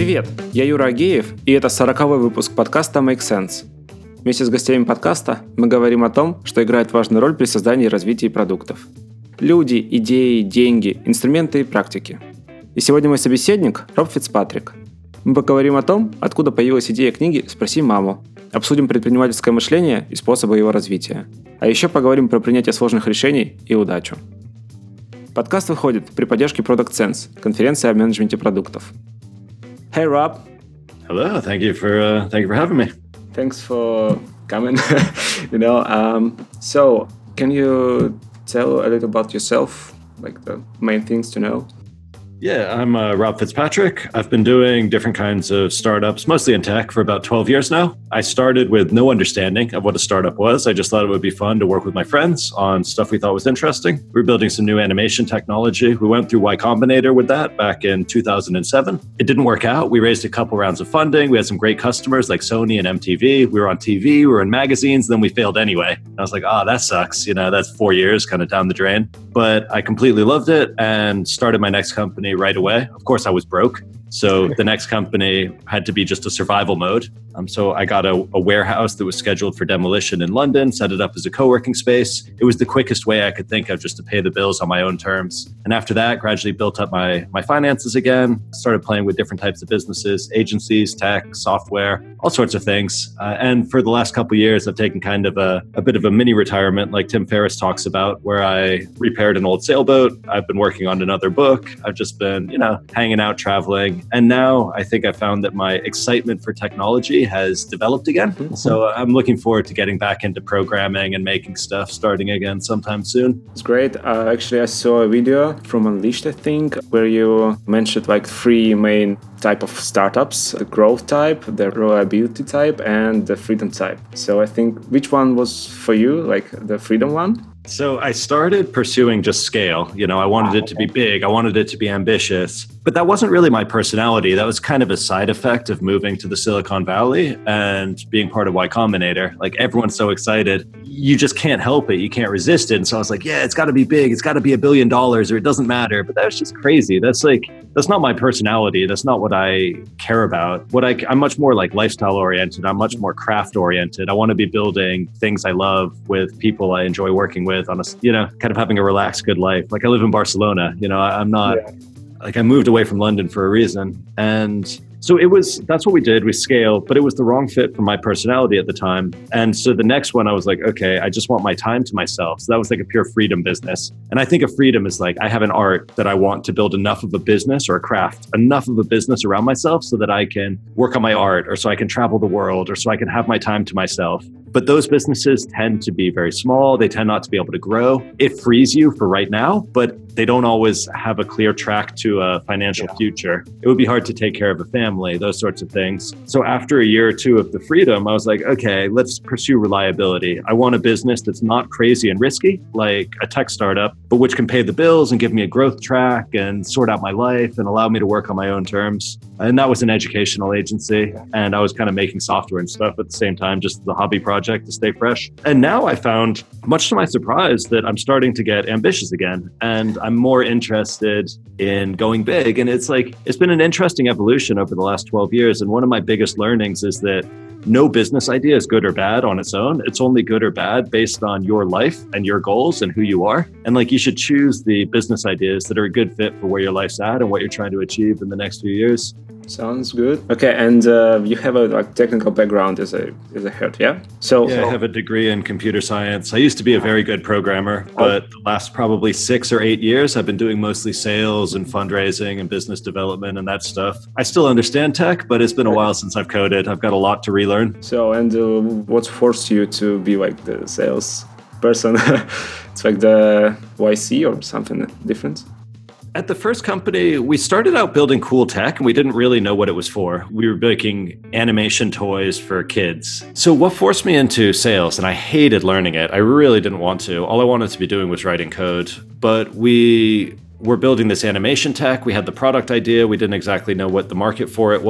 Привет, я Юра Агеев, и это 40-й выпуск подкаста Make Sense. Вместе с гостями подкаста мы говорим о том, что играет важную роль при создании и развитии продуктов. Люди, идеи, деньги, инструменты и практики. И сегодня мой собеседник Роб Фицпатрик. Мы поговорим о том, откуда появилась идея книги «Спроси маму», обсудим предпринимательское мышление и способы его развития. А еще поговорим про принятие сложных решений и удачу. Подкаст выходит при поддержке Product Sense, конференции о менеджменте продуктов. Hey, Rob. Hello. Thank you for having me. Thanks for coming. So can you tell a little about yourself, like the main things to know? Yeah, I'm Rob Fitzpatrick. I've been doing different kinds of startups, mostly in tech, for about 12 years now. I started with no understanding of what a startup was. I just thought it would be fun to work with my friends on stuff we thought was interesting. We were building some new animation technology. We went through Y Combinator with that back in 2007. It didn't work out. We raised a couple rounds of funding. We had some great customers like Sony and MTV. We were on TV, we were in magazines, then we failed anyway. And I was like, that sucks. That's 4 years kind of down the drain. But I completely loved it and started my next company right away. Of course, I was broke. So the next company had to be just a survival mode. So I got a warehouse that was scheduled for demolition in London, set it up as a co-working space. It was the quickest way I could think of just to pay the bills on my own terms. And after that, gradually built up my finances again, started playing with different types of businesses, agencies, tech, software, all sorts of things. And for the last couple of years, I've taken kind of a bit of a mini retirement like Tim Ferriss talks about, where I repaired an old sailboat. I've been working on another book. I've just been, hanging out, traveling. And now I think I found that my excitement for technology has developed again. Mm-hmm. So I'm looking forward to getting back into programming and making stuff starting again sometime soon. It's great. Actually, I saw a video from Unleashed, I think, where you mentioned like 3 main type of startups: the growth type, the reliability type, and the freedom type. So I think, which one was for you, like the freedom one? So I started pursuing just scale. I wanted it to be big. I wanted it to be ambitious. But that wasn't really my personality. That was kind of a side effect of moving to the Silicon Valley and being part of Y Combinator. Like, everyone's so excited. You just can't help it. You can't resist it. And so I was like, yeah, it's got to be big. It's got to be $1 billion, or it doesn't matter. But that's just crazy. That's not my personality. That's not what I care about. I'm much more like lifestyle oriented. I'm much more craft oriented. I want to be building things I love with people I enjoy working with on a, kind of having a relaxed, good life. Like, I live in Barcelona. I'm not like, I moved away from London for a reason. And so that's what we did. We scaled, but it was the wrong fit for my personality at the time. And so the next one, I was like, okay, I just want my time to myself. So that was like a pure freedom business. And I think of freedom as like, I have an art that I want to build enough of a business or a craft, enough of a business around myself so that I can work on my art, or so I can travel the world, or so I can have my time to myself. But those businesses tend to be very small. They tend not to be able to grow. It frees you for right now, but they don't always have a clear track to a financial future. It would be hard to take care of a family, those sorts of things. So after a year or two of the freedom, I was like, okay, let's pursue reliability. I want a business that's not crazy and risky, like a tech startup, but which can pay the bills and give me a growth track and sort out my life and allow me to work on my own terms. And that was an educational agency. And I was kind of making software and stuff at the same time, just as a hobby project to stay fresh. And now I found, much to my surprise, that I'm starting to get ambitious again. And I'm more interested in going big. And it's been an interesting evolution over the last 12 years. And one of my biggest learnings is that no business idea is good or bad on its own. It's only good or bad based on your life and your goals and who you are. And you should choose the business ideas that are a good fit for where your life's at and what you're trying to achieve in the next few years. Sounds good. Okay, and you have a technical background as a head, yeah? I have a degree in computer science. I used to be a very good programmer, but the last probably 6 or 8 years, I've been doing mostly sales and fundraising and business development and that stuff. I still understand tech, but it's been a while since I've coded. I've got a lot to relearn. So, and what forced you to be like the sales person? It's like the YC or something different? At the first company, we started out building cool tech and we didn't really know what it was for. We were making animation toys for kids. So what forced me into sales, and I hated learning it. I really didn't want to. All I wanted to be doing was writing code. But we were building this animation tech. We had the product idea. We didn't exactly know what the market for it was.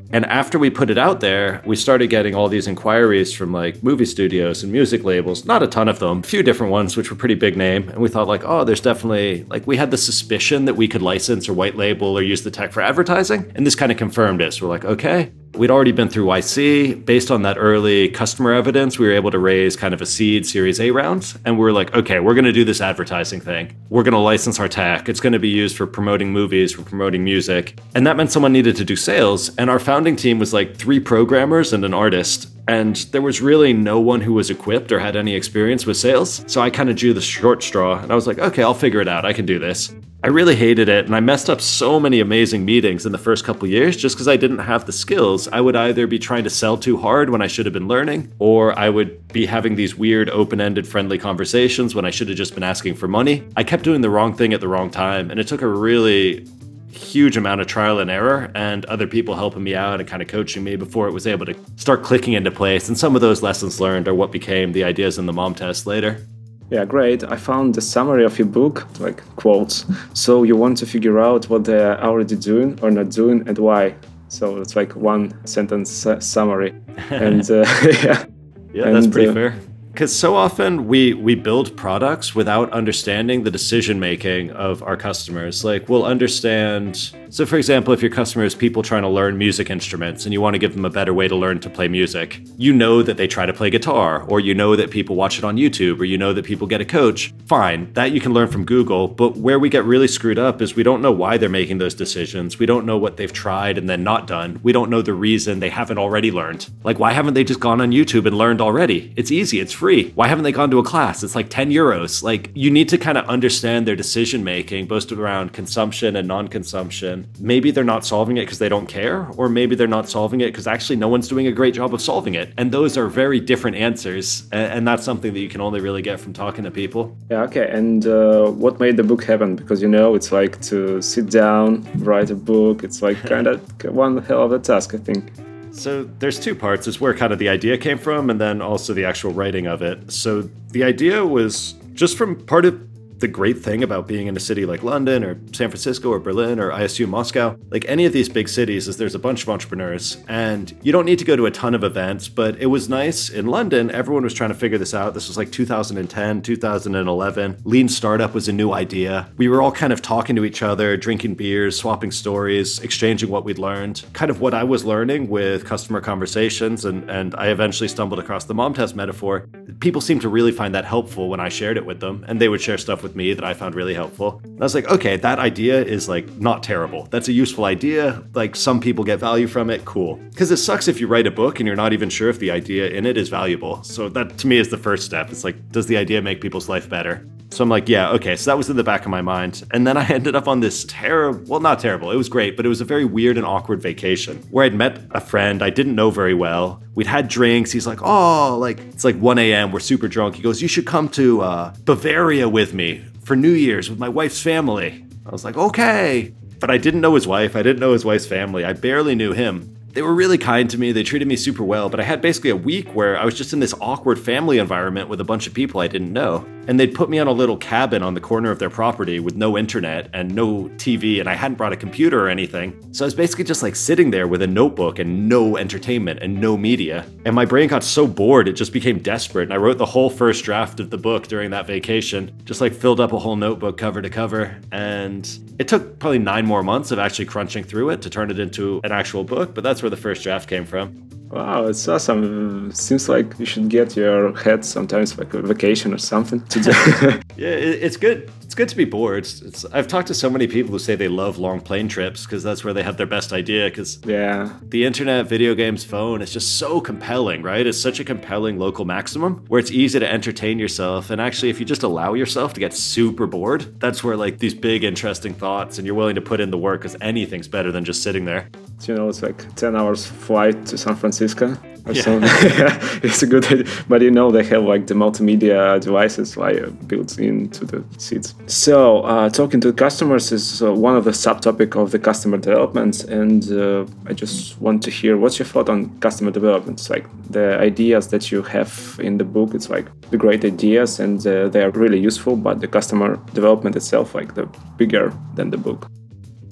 And after we put it out there, we started getting all these inquiries from like movie studios and music labels, not a ton of them, a few different ones, which were pretty big name. And we thought like, oh, there's definitely, like we had the suspicion that we could license or white label or use the tech for advertising. And this kind of confirmed it. So we're like, okay. We'd already been through YC. Based on that early customer evidence, we were able to raise kind of a seed Series A round. And we were like, okay, we're going to do this advertising thing. We're going to license our tech. It's going to be used for promoting movies, for promoting music. And that meant someone needed to do sales. And our founding team was like 3 programmers and an artist. And there was really no one who was equipped or had any experience with sales. So I kind of drew the short straw and I was like, okay, I'll figure it out. I can do this. I really hated it, and I messed up so many amazing meetings in the first couple years just because I didn't have the skills. I would either be trying to sell too hard when I should have been learning, or I would be having these weird, open-ended, friendly conversations when I should have just been asking for money. I kept doing the wrong thing at the wrong time, and it took a really huge amount of trial and error and other people helping me out and kind of coaching me before it was able to start clicking into place. And some of those lessons learned are what became the ideas in the mom test later. Yeah, great. I found the summary of your book, like quotes. So you want to figure out what they're already doing or not doing and why. So it's like one sentence summary. And yeah, that's pretty fair. Because so often we build products without understanding the decision making of our customers. Like we'll understand. So for example, if your customer is people trying to learn music instruments and you want to give them a better way to learn to play music, you know that they try to play guitar, or you know that people watch it on YouTube, or you know that people get a coach. Fine, that you can learn from Google. But where we get really screwed up is we don't know why they're making those decisions. We don't know what they've tried and then not done. We don't know the reason they haven't already learned. Like, why haven't they just gone on YouTube and learned already? It's easy, it's free. Why haven't they gone to a class? It's like 10 euros. Like, you need to kind of understand their decision making, both around consumption and non-consumption. Maybe they're not solving it because they don't care, or maybe they're not solving it because actually no one's doing a great job of solving it. And those are very different answers. And that's something that you can only really get from talking to people. Yeah, okay. And what made the book happen? Because, it's like to sit down, write a book. It's like kind of one hell of a task, I think. So there's 2 parts. It's where kind of the idea came from and then also the actual writing of it. So the idea was just from part of the great thing about being in a city like London or San Francisco or Berlin or I assume Moscow, like any of these big cities, is there's a bunch of entrepreneurs and you don't need to go to a ton of events, but it was nice. In London, everyone was trying to figure this out. This was like 2010, 2011. Lean startup was a new idea. We were all kind of talking to each other, drinking beers, swapping stories, exchanging what we'd learned. Kind of what I was learning with customer conversations, and I eventually stumbled across the mom test metaphor. People seemed to really find that helpful when I shared it with them, and they would share stuff with me that I found really helpful. And I was like, okay, that idea is like not terrible. That's a useful idea. Like some people get value from it. Cool. Because it sucks if you write a book and you're not even sure if the idea in it is valuable. So that to me is the first step. It's like, does the idea make people's life better? So I'm like, yeah, okay. So that was in the back of my mind. And then I ended up on this not terrible. It was great, but it was a very weird and awkward vacation where I'd met a friend I didn't know very well. We'd had drinks. He's like, oh, like it's like 1 a.m. We're super drunk. He goes, you should come to Bavaria with me for New Year's with my wife's family. I was like, okay. But I didn't know his wife. I didn't know his wife's family. I barely knew him. They were really kind to me. They treated me super well, but I had basically a week where I was just in this awkward family environment with a bunch of people I didn't know. And they'd put me on a little cabin on the corner of their property with no internet and no TV, and I hadn't brought a computer or anything. So I was basically just like sitting there with a notebook and no entertainment and no media. And my brain got so bored, it just became desperate. And I wrote the whole first draft of the book during that vacation, just like filled up a whole notebook cover to cover. And it took probably 9 more months of actually crunching through it to turn it into an actual book, but that's where the first draft came from. Wow, it's awesome. Seems like you should get your head sometimes like a vacation or something to do. Yeah, it's good. It's good to be bored. I've talked to so many people who say they love long plane trips because that's where they have their best idea. Because the internet, video games, phone is just so compelling, right? It's such a compelling local maximum where it's easy to entertain yourself. And actually, if you just allow yourself to get super bored, that's where like these big, interesting thoughts and you're willing to put in the work because anything's better than just sitting there. It's like 10 hours flight to San Francisco or something. It's a good idea. But they have like the multimedia devices like built into the seats. So talking to customers is one of the subtopic of the customer development. And I just want to hear what's your thought on customer development. It's like the ideas that you have in the book, it's like the great ideas and they are really useful, but the customer development itself, like the bigger than the book.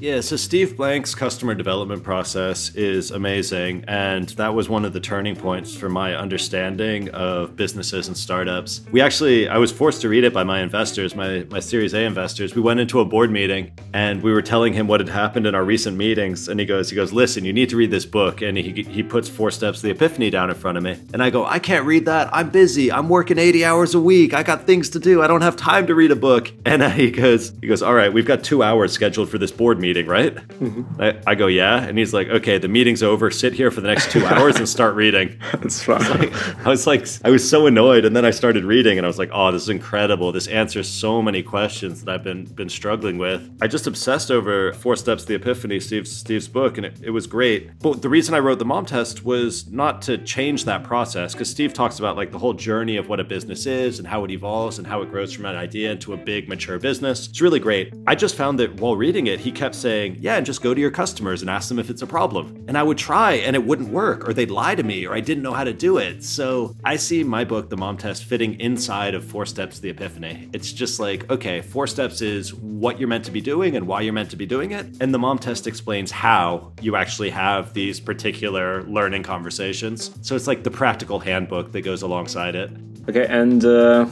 Yeah, so Steve Blank's customer development process is amazing, and that was one of the turning points for my understanding of businesses and startups. I was forced to read it by my investors, my Series A investors. We went into a board meeting, and we were telling him what had happened in our recent meetings, and he goes, listen, you need to read this book, and he puts 4 Steps to the Epiphany down in front of me, and I go, I can't read that. I'm busy. I'm working 80 hours a week. I got things to do. I don't have time to read a book. And he goes, all right, we've got 2 hours scheduled for this board meeting, right? Mm-hmm. I go, yeah. And he's like, okay, the meeting's over. Sit here for the next 2 hours and start reading. That's right. I was so annoyed. And then I started reading and I was like, oh, this is incredible. This answers so many questions that I've been struggling with. I just obsessed over 4 Steps to the Epiphany, Steve's book, and it was great. But the reason I wrote the Mom Test was not to change that process, because Steve talks about like the whole journey of what a business is and how it evolves and how it grows from an idea into a big mature business. It's really great. I just found that while reading it, he kept saying, yeah, and just go to your customers and ask them if it's a problem. And I would try and it wouldn't work, or they'd lie to me, or I didn't know how to do it. So I see my book, The Mom Test, fitting inside of 4 Steps to the Epiphany. It's just like, okay, 4 steps is what you're meant to be doing and why you're meant to be doing it. And the Mom Test explains how you actually have these particular learning conversations. So it's like the practical handbook that goes alongside it. Okay, and the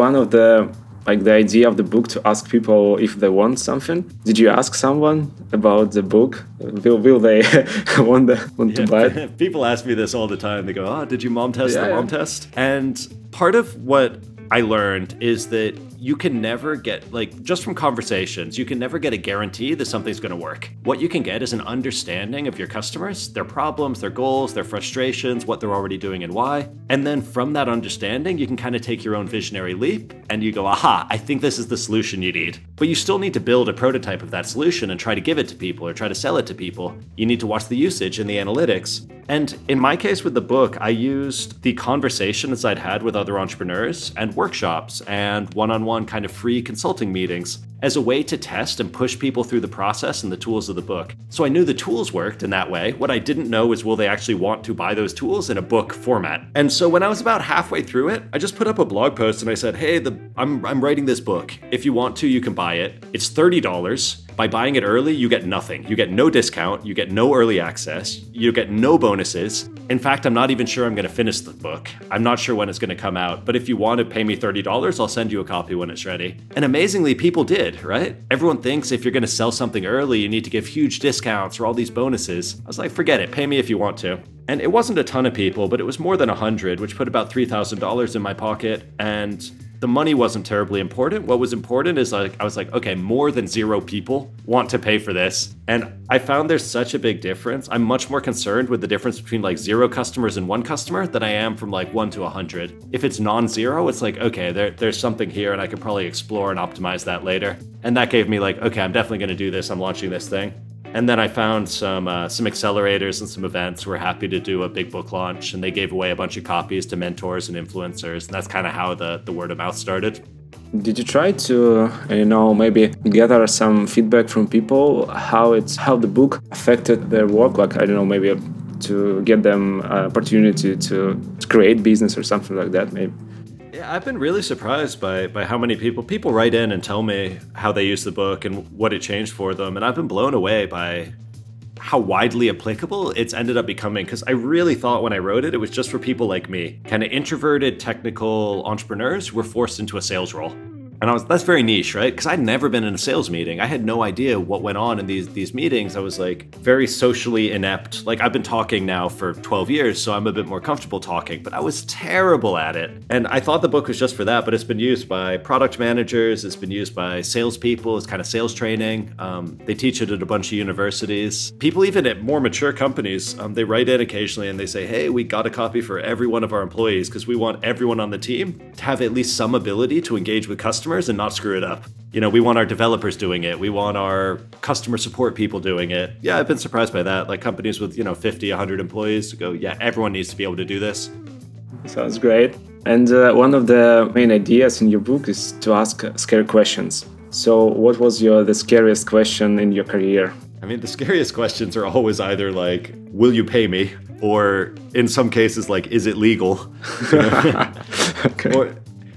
idea of the book to ask people if they want something. Did you ask someone about the book? Will they want to buy it? People ask me this all the time. They go, oh, did you mom test the mom test? And part of what I learned is that you can never get, like, just from conversations, you can never get a guarantee that something's going to work. What you can get is an understanding of your customers, their problems, their goals, their frustrations, what they're already doing and why. And then from that understanding, you can kind of take your own visionary leap and you go, aha, I think this is the solution you need. But you still need to build a prototype of that solution and try to give it to people or try to sell it to people. You need to watch the usage and the analytics. And in my case with the book, I used the conversations I'd had with other entrepreneurs and workshops and one-on-one kind of free consulting meetings as a way to test and push people through the process and the tools of the book. So I knew the tools worked in that way. What I didn't know is, will they actually want to buy those tools in a book format? And so when I was about halfway through it, I just put up a blog post and I said, hey, I'm writing this book. If you want to, you can buy it. It's $30. By buying it early, you get nothing. You get no discount, you get no early access, you get no bonuses. In fact, I'm not even sure I'm going to finish the book. I'm not sure when it's going to come out, but if you want to pay me $30, I'll send you a copy when it's ready. And amazingly, people did, right? Everyone thinks if you're going to sell something early, you need to give huge discounts or all these bonuses. I was like, forget it, pay me if you want to. And it wasn't a ton of people, but it was more than 100, which put about $3,000 in my pocket. And the money wasn't terribly important. What was important is I was like, okay, more than 0 people want to pay for this. And I found there's such a big difference. I'm much more concerned with the difference between like 0 customers and 1 customer than I am from like 1 to 100. If it's non-zero, it's like, okay, there's something here and I could probably explore and optimize that later. And that gave me like, okay, I'm definitely going to do this. I'm launching this thing. And then I found some accelerators and some events who were happy to do a big book launch, and they gave away a bunch of copies to mentors and influencers. And that's kind of how the word of mouth started. Did you try to, maybe gather some feedback from people, how the book affected their work? Like, I don't know, maybe to get them opportunity to create business or something like that, maybe. Yeah, I've been really surprised by how many people write in and tell me how they use the book and what it changed for them. And I've been blown away by how widely applicable it's ended up becoming. Because I really thought when I wrote it was just for people like me, kind of introverted technical entrepreneurs who were forced into a sales role. And that's very niche, right? Because I'd never been in a sales meeting. I had no idea what went on in these meetings. I was like very socially inept. Like, I've been talking now for 12 years, so I'm a bit more comfortable talking, but I was terrible at it. And I thought the book was just for that, but it's been used by product managers. It's been used by salespeople. It's kind of sales training. They teach it at a bunch of universities. People even at more mature companies, they write in occasionally and they say, hey, we got a copy for every one of our employees because we want everyone on the team to have at least some ability to engage with customers and not screw it up. We want our developers doing it. We want our customer support people doing it. Yeah, I've been surprised by that. Like companies with, 50, 100 employees to go, yeah, everyone needs to be able to do this. Sounds great. And one of the main ideas in your book is to ask scary questions. So what was the scariest question in your career? I mean, the scariest questions are always either like, will you pay me? Or in some cases, like, is it legal? Okay.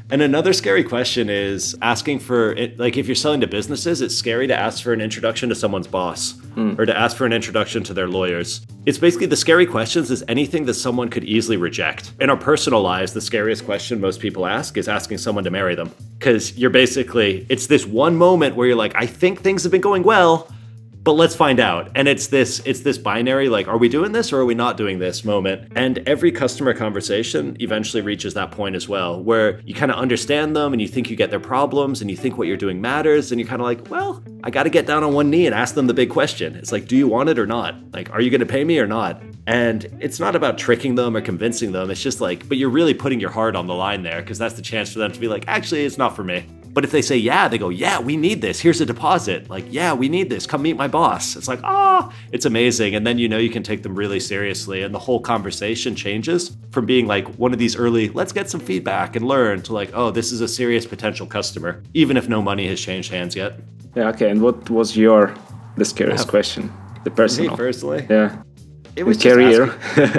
And another scary question is asking for it. Like if you're selling to businesses, it's scary to ask for an introduction to someone's boss or to ask for an introduction to their lawyers. It's basically the scary questions is anything that someone could easily reject. In our personal lives, the scariest question most people ask is asking someone to marry them. Because you're basically, it's this one moment where you're like, I think things have been going well, but let's find out. And it's this binary, like, are we doing this or are we not doing this moment? And every customer conversation eventually reaches that point as well, where you kind of understand them and you think you get their problems and you think what you're doing matters. And you're kind of like, well, I got to get down on one knee and ask them the big question. It's like, do you want it or not? Like, are you going to pay me or not? And it's not about tricking them or convincing them. It's just like, but you're really putting your heart on the line there because that's the chance for them to be like, actually, it's not for me. But if they say, yeah, they go, yeah, we need this. Here's a deposit. Like, yeah, we need this. Come meet my boss. It's like, it's amazing. And then, you can take them really seriously. And the whole conversation changes from being like one of these early, let's get some feedback and learn to like, oh, this is a serious potential customer, even if no money has changed hands yet. Yeah, okay. And what was the scariest question? The personal. Me personally? Yeah. It was career.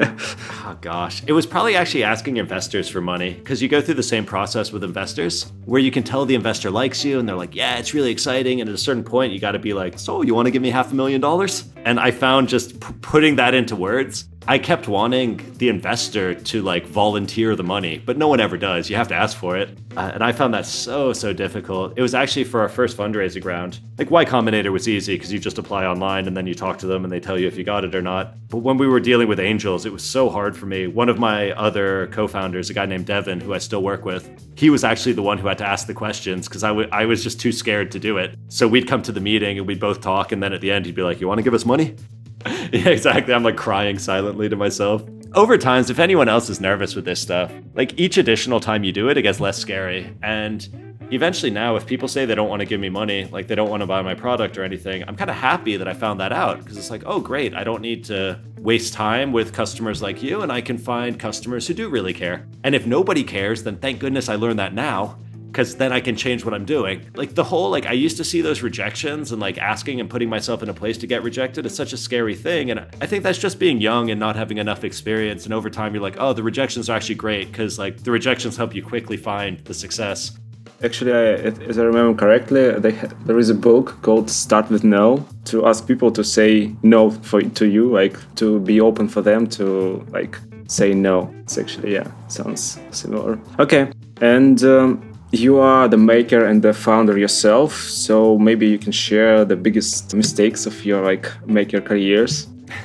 Oh gosh. It was probably actually asking investors for money because you go through the same process with investors where you can tell the investor likes you and they're like, yeah, it's really exciting. And at a certain point, you got to be like, so you want to give me $500,000? And I found just putting that into words, I kept wanting the investor to like volunteer the money, but no one ever does. You have to ask for it. And I found that so difficult. It was actually for our first fundraising round. Like Y Combinator was easy because you just apply online and then you talk to them and they tell you if you got it or not. But when we were dealing with angels, it was so hard for me. One of my other co-founders, a guy named Devin, who I still work with, he was actually the one who had to ask the questions because I was just too scared to do it. So we'd come to the meeting and we'd both talk. And then at the end, he'd be like, you want to give us money? Yeah, exactly. I'm like crying silently to myself. Over time, if anyone else is nervous with this stuff, like each additional time you do it, it gets less scary. And eventually now, if people say they don't want to give me money, like they don't want to buy my product or anything, I'm kind of happy that I found that out because it's like, oh, great. I don't need to waste time with customers like you and I can find customers who do really care. And if nobody cares, then thank goodness I learned that now. Because then I can change what I'm doing. Like the whole, like I used to see those rejections and like asking and putting myself in a place to get rejected is such a scary thing. And I think that's just being young and not having enough experience. And over time, you're like, oh, the rejections are actually great because like the rejections help you quickly find the success. Actually, as I remember correctly, there is a book called Start With No to ask people to say no to you, like to be open for them to like say no. It's actually, sounds similar. Okay. And you are the maker and the founder yourself, so maybe you can share the biggest mistakes of your maker careers.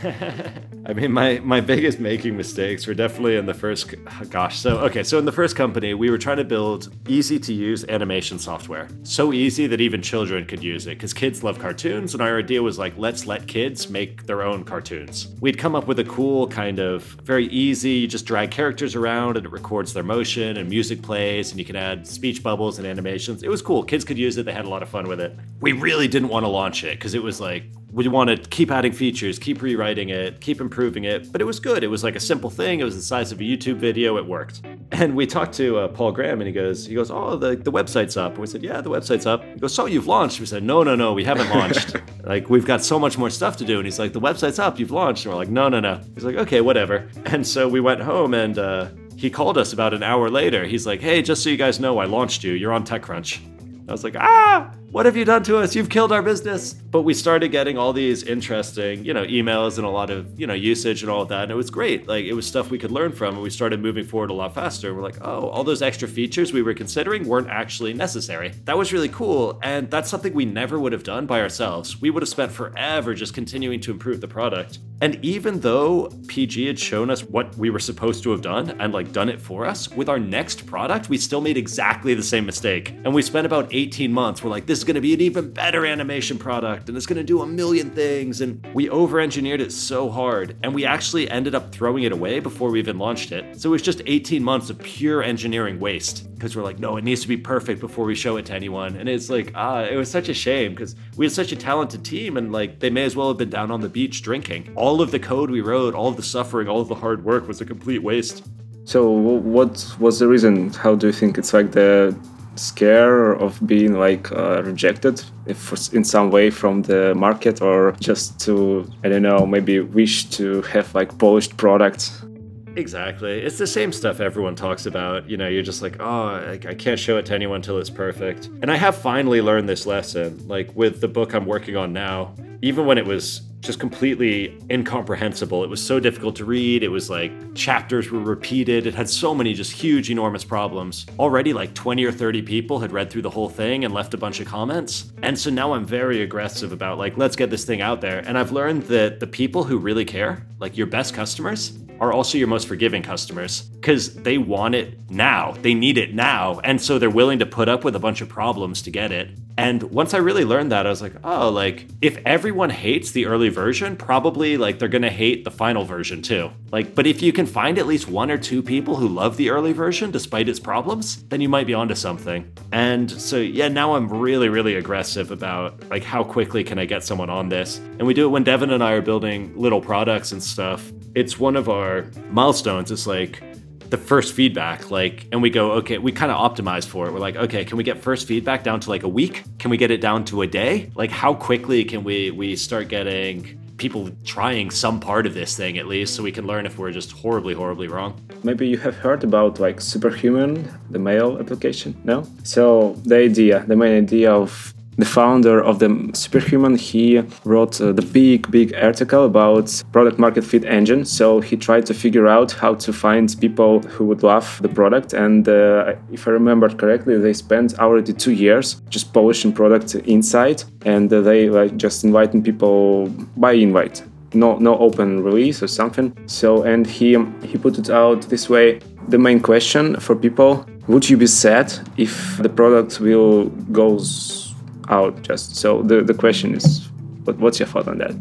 I mean, my biggest making mistakes were definitely in the first, So in the first company, we were trying to build easy to use animation software. So easy that even children could use it because kids love cartoons. And our idea was like, let's let kids make their own cartoons. We'd come up with a cool kind of very easy, you just drag characters around and it records their motion and music plays and you can add speech bubbles and animations. It was cool. Kids could use it. They had a lot of fun with it. We really didn't want to launch it because it was like, we want to keep adding features, keep rewriting it, keep improving it. But it was good. It was like a simple thing. It was the size of a YouTube video. It worked. And we talked to Paul Graham and he goes, oh, the website's up. And we said, yeah, the website's up. He goes, so you've launched? We said, no, we haven't launched. Like, we've got so much more stuff to do. And he's like, the website's up, you've launched. And we're like, no. He's like, okay, whatever. And so we went home and he called us about an hour later. He's like, hey, just so you guys know, I launched you. You're on TechCrunch. I was like, what have you done to us? You've killed our business. But we started getting all these interesting, emails and a lot of, usage and all of that. And it was great. Like, it was stuff we could learn from. And we started moving forward a lot faster. We're like, oh, all those extra features we were considering weren't actually necessary. That was really cool. And that's something we never would have done by ourselves. We would have spent forever just continuing to improve the product. And even though PG had shown us what we were supposed to have done and done it for us, with our next product, we still made exactly the same mistake. And we spent about 18 months. We're like, this is going to be an even better animation product and it's going to do a million things. And we over-engineered it so hard. And we actually ended up throwing it away before we even launched it. So it was just 18 months of pure engineering waste because we're like, no, it needs to be perfect before we show it to anyone. And it's like, it was such a shame because we had such a talented team and they may as well have been down on the beach drinking. All of the code we wrote, all of the suffering, all of the hard work was a complete waste. So what was the reason? How do you think it's the scare of being rejected in some way from the market, or just to, I don't know, maybe wish to have polished products? Exactly. It's the same stuff everyone talks about. You're just like, oh, I can't show it to anyone till it's perfect. And I have finally learned this lesson, like with the book I'm working on now. Even when it was just completely incomprehensible, it was so difficult to read. It was like chapters were repeated. It had so many just huge, enormous problems. Already like 20 or 30 people had read through the whole thing and left a bunch of comments. And so now I'm very aggressive about like, let's get this thing out there. And I've learned that the people who really care, like your best customers, are also your most forgiving customers because they want it now. They need it now. And so they're willing to put up with a bunch of problems to get it. And once I really learned that, I was like, oh, like if everyone hates the early version, probably like they're going to hate the final version too. Like, but if you can find at least 1 or 2 people who love the early version despite its problems, then you might be onto something. And so, yeah, now I'm really, really aggressive about like how quickly can I get someone on this. And we do it when Devin and I are building little products and stuff. It's one of our milestones. It's like the first feedback, like, and we go, okay, we kind of optimized for it. We're like, okay, can we get first feedback down to like a week? Can we get it down to a day? Like, how quickly can we start getting people trying some part of this thing at least, so we can learn if we're just horribly, horribly wrong? Maybe you have heard about like Superhuman, the mail application, no? So the main idea of the founder of the Superhuman, he wrote the big article about product market fit engine. So he tried to figure out how to find people who would love the product. And if I remember correctly, they spent already 2 years just polishing product inside, and they like just inviting people by invite. No open release or something. So, and he put it out this way. The main question for people: would you be sad if the product will goes out? Just so the question is, what's your thought on that?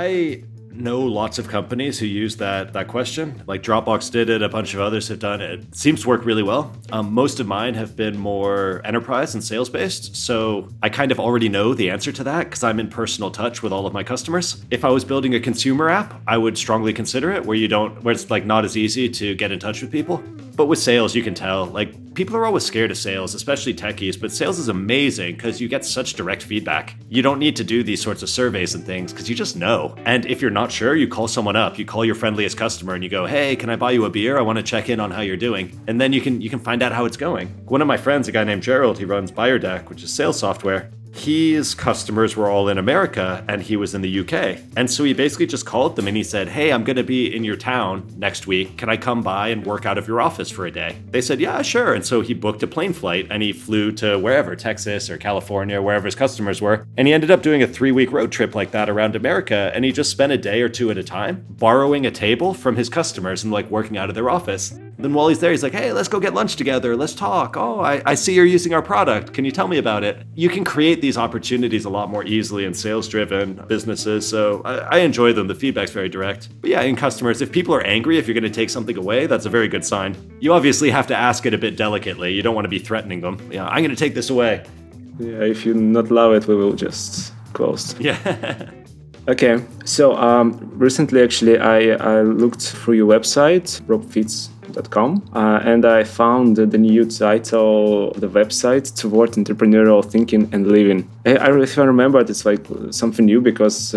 I know lots of companies who use that question. Like Dropbox did it, a bunch of others have done it. It seems to work really well. Most of mine have been more enterprise and sales based, so I kind of already know the answer to that because I'm in personal touch with all of my customers. If I was building a consumer app, I would strongly consider it where it's like not as easy to get in touch with people. But with sales, you can tell, like, people are always scared of sales, especially techies, but sales is amazing because you get such direct feedback. You don't need to do these sorts of surveys and things because you just know. And if you're not sure, you call someone up, you call your friendliest customer and you go, hey, can I buy you a beer? I want to check in on how you're doing. And then you can find out how it's going. One of my friends, a guy named Gerald, he runs BuyerDeck, which is sales software. His customers were all in America and he was in the UK. And so he basically just called them and he said, hey, I'm going to be in your town next week. Can I come by and work out of your office for a day? They said, yeah, sure. And so he booked a plane flight and he flew to wherever, Texas or California, wherever his customers were. And he ended up doing a 3-week road trip like that around America. And he just spent a day or 2 at a time borrowing a table from his customers and like working out of their office. Then while he's there, he's like, hey, let's go get lunch together. Let's talk. Oh, I see you're using our product. Can you tell me about it? You can create these opportunities a lot more easily in sales-driven businesses. So I enjoy them. The feedback's very direct. But yeah, in customers, if people are angry, if you're going to take something away, that's a very good sign. You obviously have to ask it a bit delicately. You don't want to be threatening them. Yeah, I'm going to take this away. Yeah, if you not love it, we will just close. Yeah. Okay, so recently actually I looked through your website, robfitz.com, and I found the new title of the website, Toward Entrepreneurial Thinking and Living. If I remember, it's like something new because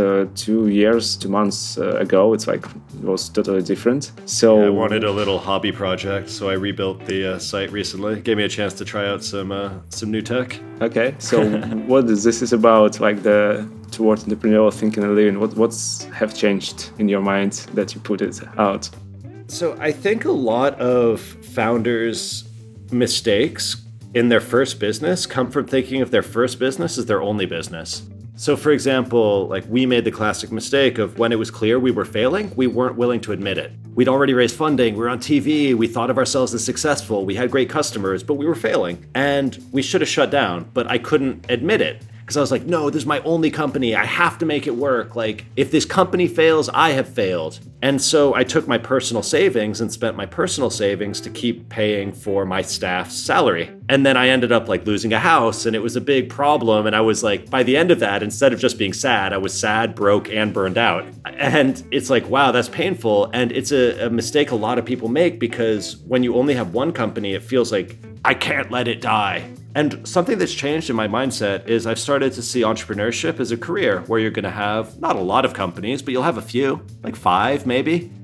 2 months ago, it was totally different. So yeah, I wanted a little hobby project, so I rebuilt the site recently. It gave me a chance to try out some new tech. Okay, so what is this about, like the Toward Entrepreneurial Thinking and Living? What's have changed in your mind that you put it out? So I think a lot of founders' mistakes in their first business come from thinking of their first business as their only business. So for example, like we made the classic mistake of when it was clear we were failing, we weren't willing to admit it. We'd already raised funding, we were on TV, we thought of ourselves as successful, we had great customers, but we were failing. And we should have shut down, but I couldn't admit it. Because I was like, no, this is my only company. I have to make it work. Like, if this company fails, I have failed. And so I took my personal savings and spent my personal savings to keep paying for my staff's salary. And then I ended up like losing a house and it was a big problem. And I was like, by the end of that, instead of just being sad, I was sad, broke, and burned out. And it's like, wow, that's painful. And it's a mistake a lot of people make because when you only have one company, it feels like, I can't let it die. And something that's changed in my mindset is I've started to see entrepreneurship as a career where you're going to have not a lot of companies, but you'll have a few, like 5 maybe.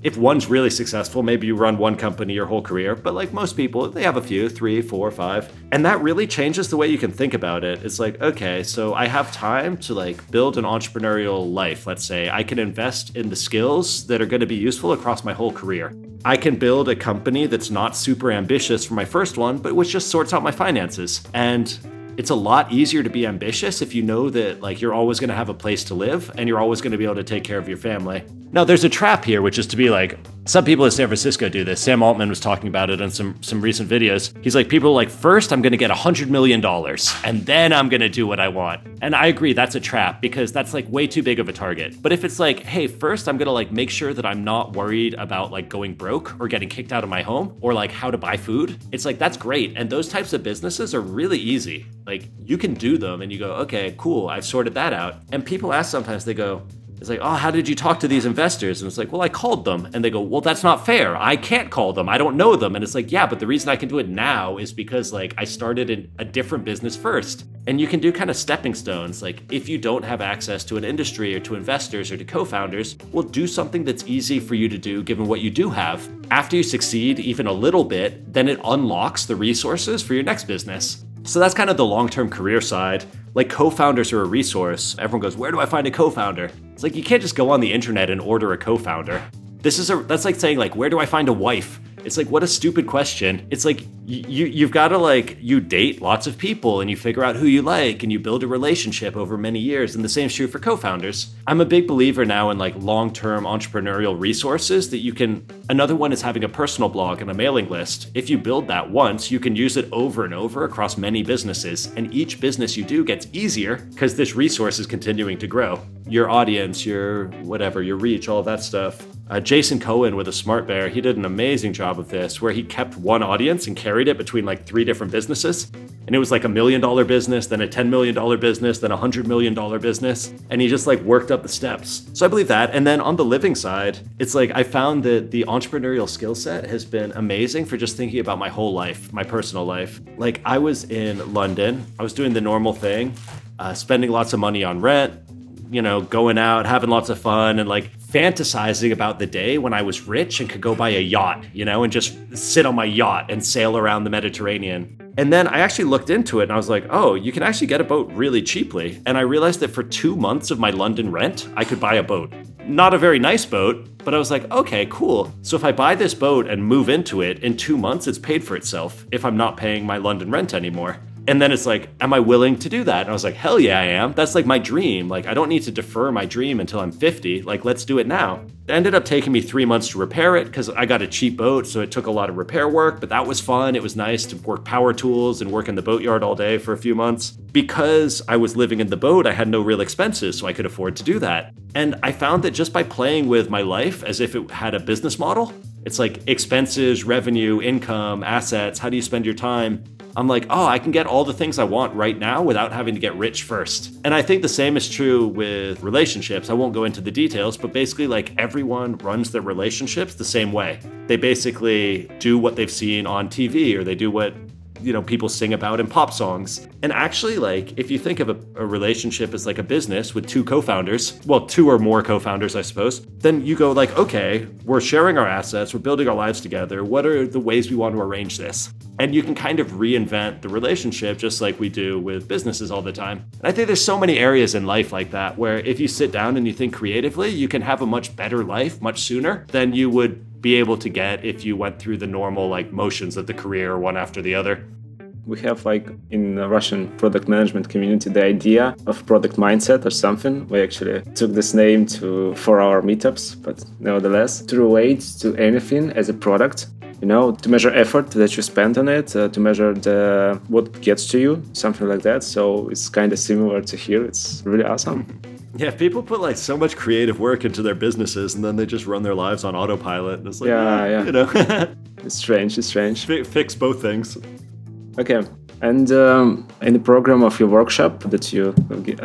if one's really successful, maybe you run one company your whole career, but like most people, they have a few, 3, 4, 5. And that really changes the way you can think about it. It's like, okay, so I have time to like build an entrepreneurial life. Let's say I can invest in the skills that are going to be useful across my whole career. I can build a company that's not super ambitious for my first one, but which just sorts out my finances. And it's a lot easier to be ambitious if you know that like you're always going to have a place to live and you're always going to be able to take care of your family. Now, there's a trap here, which is to be like, some people in San Francisco do this. Sam Altman was talking about it in some recent videos. He's like, people are like, first I'm going to get $100 million and then I'm going to do what I want. And I agree, that's a trap because that's like way too big of a target. But if it's like, hey, first I'm going to like make sure that I'm not worried about like going broke or getting kicked out of my home or like how to buy food, it's like, that's great. And those types of businesses are really easy. Like you can do them and you go, okay, cool, I've sorted that out. And people ask sometimes, they go, it's like, oh, how did you talk to these investors? And it's like, well, I called them. And they go, well, that's not fair. I can't call them. I don't know them. And it's like, yeah, but the reason I can do it now is because like I started in a different business first. And you can do kind of stepping stones. Like if you don't have access to an industry or to investors or to co-founders, well, do something that's easy for you to do given what you do have. After you succeed even a little bit, then it unlocks the resources for your next business. So that's kind of the long-term career side. Like co-founders are a resource. Everyone goes, where do I find a co-founder? It's like, you can't just go on the internet and order a co-founder. That's like saying like, where do I find a wife? It's like, what a stupid question. It's like, you've got to like, you date lots of people and you figure out who you like and you build a relationship over many years. And the same is true for co-founders. I'm a big believer now in like long-term entrepreneurial resources that you can, another one is having a personal blog and a mailing list. If you build that once, you can use it over and over across many businesses. And each business you do gets easier because this resource is continuing to grow. Your audience, your whatever, your reach, all that stuff. Jason Cohen with a Smart Bear, he did an amazing job of this where he kept one audience and carried it between like 3 different businesses. And it was like $1 million business, then a $10 million business, then a $100 million business. And he just like worked up the steps. So I believe that. And then on the living side, it's like I found that the entrepreneurial skill set has been amazing for just thinking about my whole life, my personal life. Like I was in London, I was doing the normal thing, spending lots of money on rent, you know, going out, having lots of fun and like fantasizing about the day when I was rich and could go buy a yacht, you know, and just sit on my yacht and sail around the Mediterranean. And then I actually looked into it and I was like, oh, you can actually get a boat really cheaply. And I realized that for 2 months of my London rent, I could buy a boat. Not a very nice boat, but I was like, okay, cool. So if I buy this boat and move into it, in 2 months, it's paid for itself if I'm not paying my London rent anymore. And then it's like, am I willing to do that? And I was like, hell yeah, I am. That's like my dream. Like, I don't need to defer my dream until I'm 50. Like, let's do it now. It ended up taking me 3 months to repair it because I got a cheap boat. So it took a lot of repair work, but that was fun. It was nice to work power tools and work in the boatyard all day for a few months. Because I was living in the boat, I had no real expenses, so I could afford to do that. And I found that just by playing with my life as if it had a business model, it's like expenses, revenue, income, assets, how do you spend your time? I'm like, oh, I can get all the things I want right now without having to get rich first. And I think the same is true with relationships. I won't go into the details, but basically like everyone runs their relationships the same way. They basically do what they've seen on TV or they do what, you know, people sing about in pop songs. And actually, like, if you think of a relationship as like a business with 2 co-founders, well, 2 or more co-founders, I suppose, then you go like, okay, we're sharing our assets, we're building our lives together. What are the ways we want to arrange this? And you can kind of reinvent the relationship just like we do with businesses all the time. And I think there's so many areas in life like that, where if you sit down and you think creatively, you can have a much better life much sooner than you would be able to get if you went through the normal like motions of the career one after the other. We have like in the Russian product management community the idea of product mindset or something. We actually took this name for our meetups, but nevertheless, to relate to anything as a product, you know, to measure effort that you spend on it, to measure what gets to you, something like that. So it's kind of similar to here. It's really awesome. Yeah, people put like so much creative work into their businesses and then they just run their lives on autopilot. And it's like, yeah. You know, It's strange. Fix both things. Okay, and in the program of your workshop that you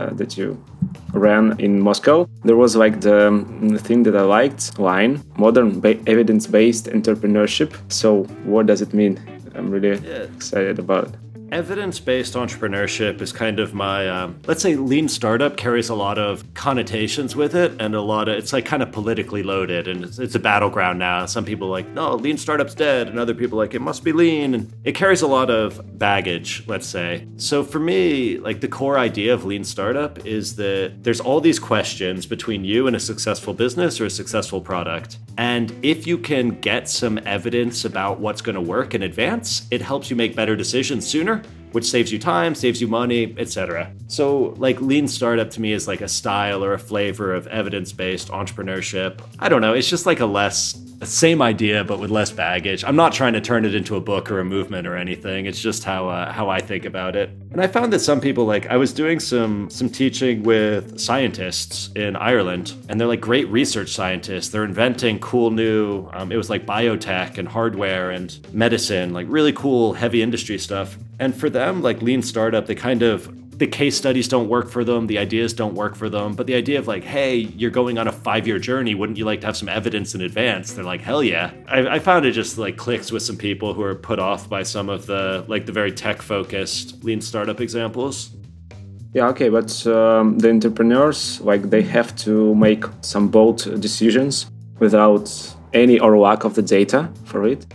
ran in Moscow, there was like the thing that I liked, line, modern evidence-based entrepreneurship. So what does it mean? I'm really excited about it. Evidence-based entrepreneurship is kind of my, let's say lean startup carries a lot of connotations with it and it's like kind of politically loaded and it's a battleground now. Some people are like, no, lean startup's dead. And other people are like, it must be lean. And it carries a lot of baggage, let's say. So for me, like the core idea of lean startup is that there's all these questions between you and a successful business or a successful product. And if you can get some evidence about what's going to work in advance, it helps you make better decisions sooner, which saves you time, saves you money, etc. So like lean startup to me is like a style or a flavor of evidence-based entrepreneurship. I don't know, it's just like a same idea, but with less baggage. I'm not trying to turn it into a book or a movement or anything. It's just how I think about it. And I found that some people, like I was doing some teaching with scientists in Ireland, and they're like great research scientists. They're inventing cool new, it was like biotech and hardware and medicine, like really cool heavy industry stuff. And for them, like lean startup, the case studies don't work for them, the ideas don't work for them, but the idea of like, hey, you're going on a 5-year journey, wouldn't you like to have some evidence in advance? They're like, hell yeah. I found it just like clicks with some people who are put off by some of the very tech-focused lean startup examples. Yeah, okay, but the entrepreneurs, like they have to make some bold decisions without any or lack of the data for it.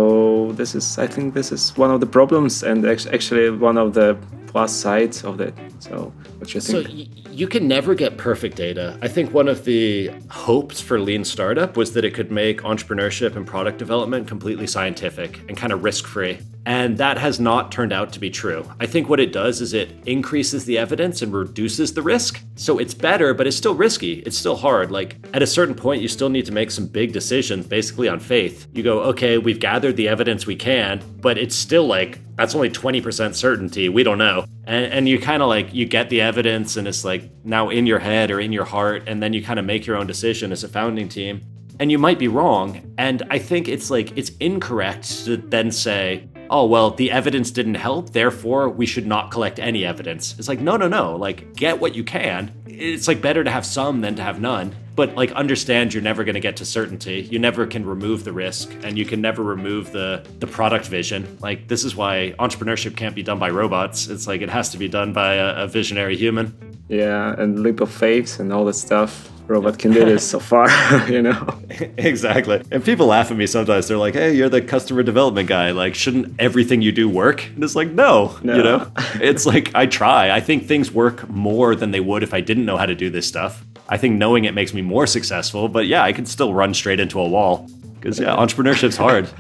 So I think this is one of the problems and actually one of the plus sides of that. So what you think? So you can never get perfect data. I think one of the hopes for lean startup was that it could make entrepreneurship and product development completely scientific and kind of risk-free. And that has not turned out to be true. I think what it does is it increases the evidence and reduces the risk. So it's better, but it's still risky. It's still hard. Like at a certain point, you still need to make some big decisions basically on faith. You go, okay, we've gathered the evidence we can, but it's still like, that's only 20% certainty. We don't know. And you kind of like, you get the evidence and it's like now in your head or in your heart. And then you kind of make your own decision as a founding team. And you might be wrong. And I think it's incorrect to then say, oh, well, the evidence didn't help, therefore we should not collect any evidence. It's like, no. Like, get what you can. It's like better to have some than to have none. But like, understand you're never going to get to certainty. You never can remove the risk and you can never remove the product vision. Like, this is why entrepreneurship can't be done by robots. It's like, it has to be done by a visionary human. Yeah, and leap of faith and all that stuff. Robot can do this so far, you know? Exactly. And people laugh at me sometimes. They're like, hey, you're the customer development guy. Like, shouldn't everything you do work? And it's like, no. You know? It's like, I try. I think things work more than they would if I didn't know how to do this stuff. I think knowing it makes me more successful. But yeah, I can still run straight into a wall. Because, yeah, entrepreneurship's hard.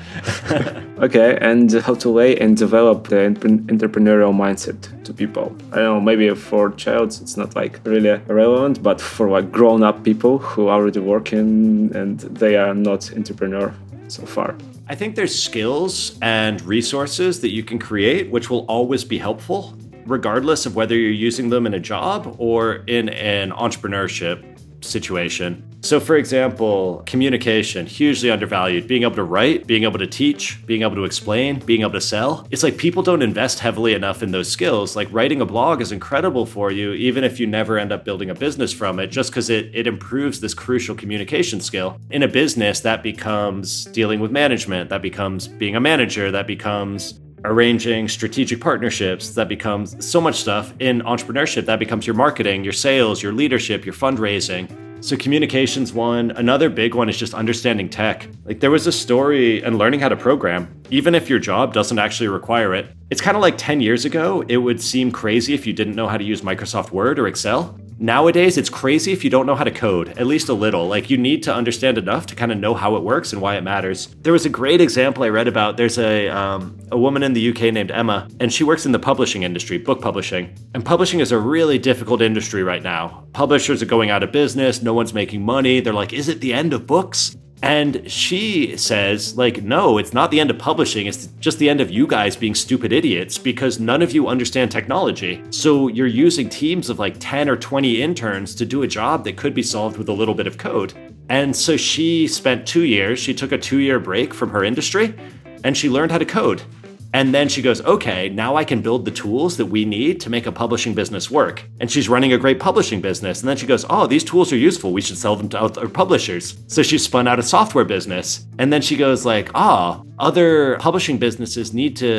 Okay, and how to lay and develop the entrepreneurial mindset to people? I don't know, maybe for childs it's not like really relevant, but for like grown-up people who are already working and they are not entrepreneur so far. I think there's skills and resources that you can create, which will always be helpful, regardless of whether you're using them in a job or in an entrepreneurship situation. So for example, communication, hugely undervalued. Being able to write, being able to teach, being able to explain, being able to sell. It's like people don't invest heavily enough in those skills. Like writing a blog is incredible for you, even if you never end up building a business from it, just because it improves this crucial communication skill. In a business, that becomes dealing with management, that becomes being a manager, that becomes arranging strategic partnerships, that becomes so much stuff. In entrepreneurship, that becomes your marketing, your sales, your leadership, your fundraising. So communication's one. Another big one is just understanding tech. Like there was a story and learning how to program, even if your job doesn't actually require it. It's kind of like 10 years ago, it would seem crazy if you didn't know how to use Microsoft Word or Excel. Nowadays, it's crazy if you don't know how to code, at least a little. Like you need to understand enough to kind of know how it works and why it matters. There was a great example I read about. There's a woman in the UK named Emma, and she works in the publishing industry, book publishing. And publishing is a really difficult industry right now. Publishers are going out of business. No one's making money. They're like, is it the end of books? And she says, like, no, it's not the end of publishing. It's just the end of you guys being stupid idiots because none of you understand technology. So you're using teams of like 10 or 20 interns to do a job that could be solved with a little bit of code. And so she spent 2 years, she took a 2-year break from her industry and she learned how to code. And then she goes, okay, now I can build the tools that we need to make a publishing business work. And she's running a great publishing business. And then she goes, oh, these tools are useful. We should sell them to other publishers. So she spun out a software business. And then she goes like, other publishing businesses need to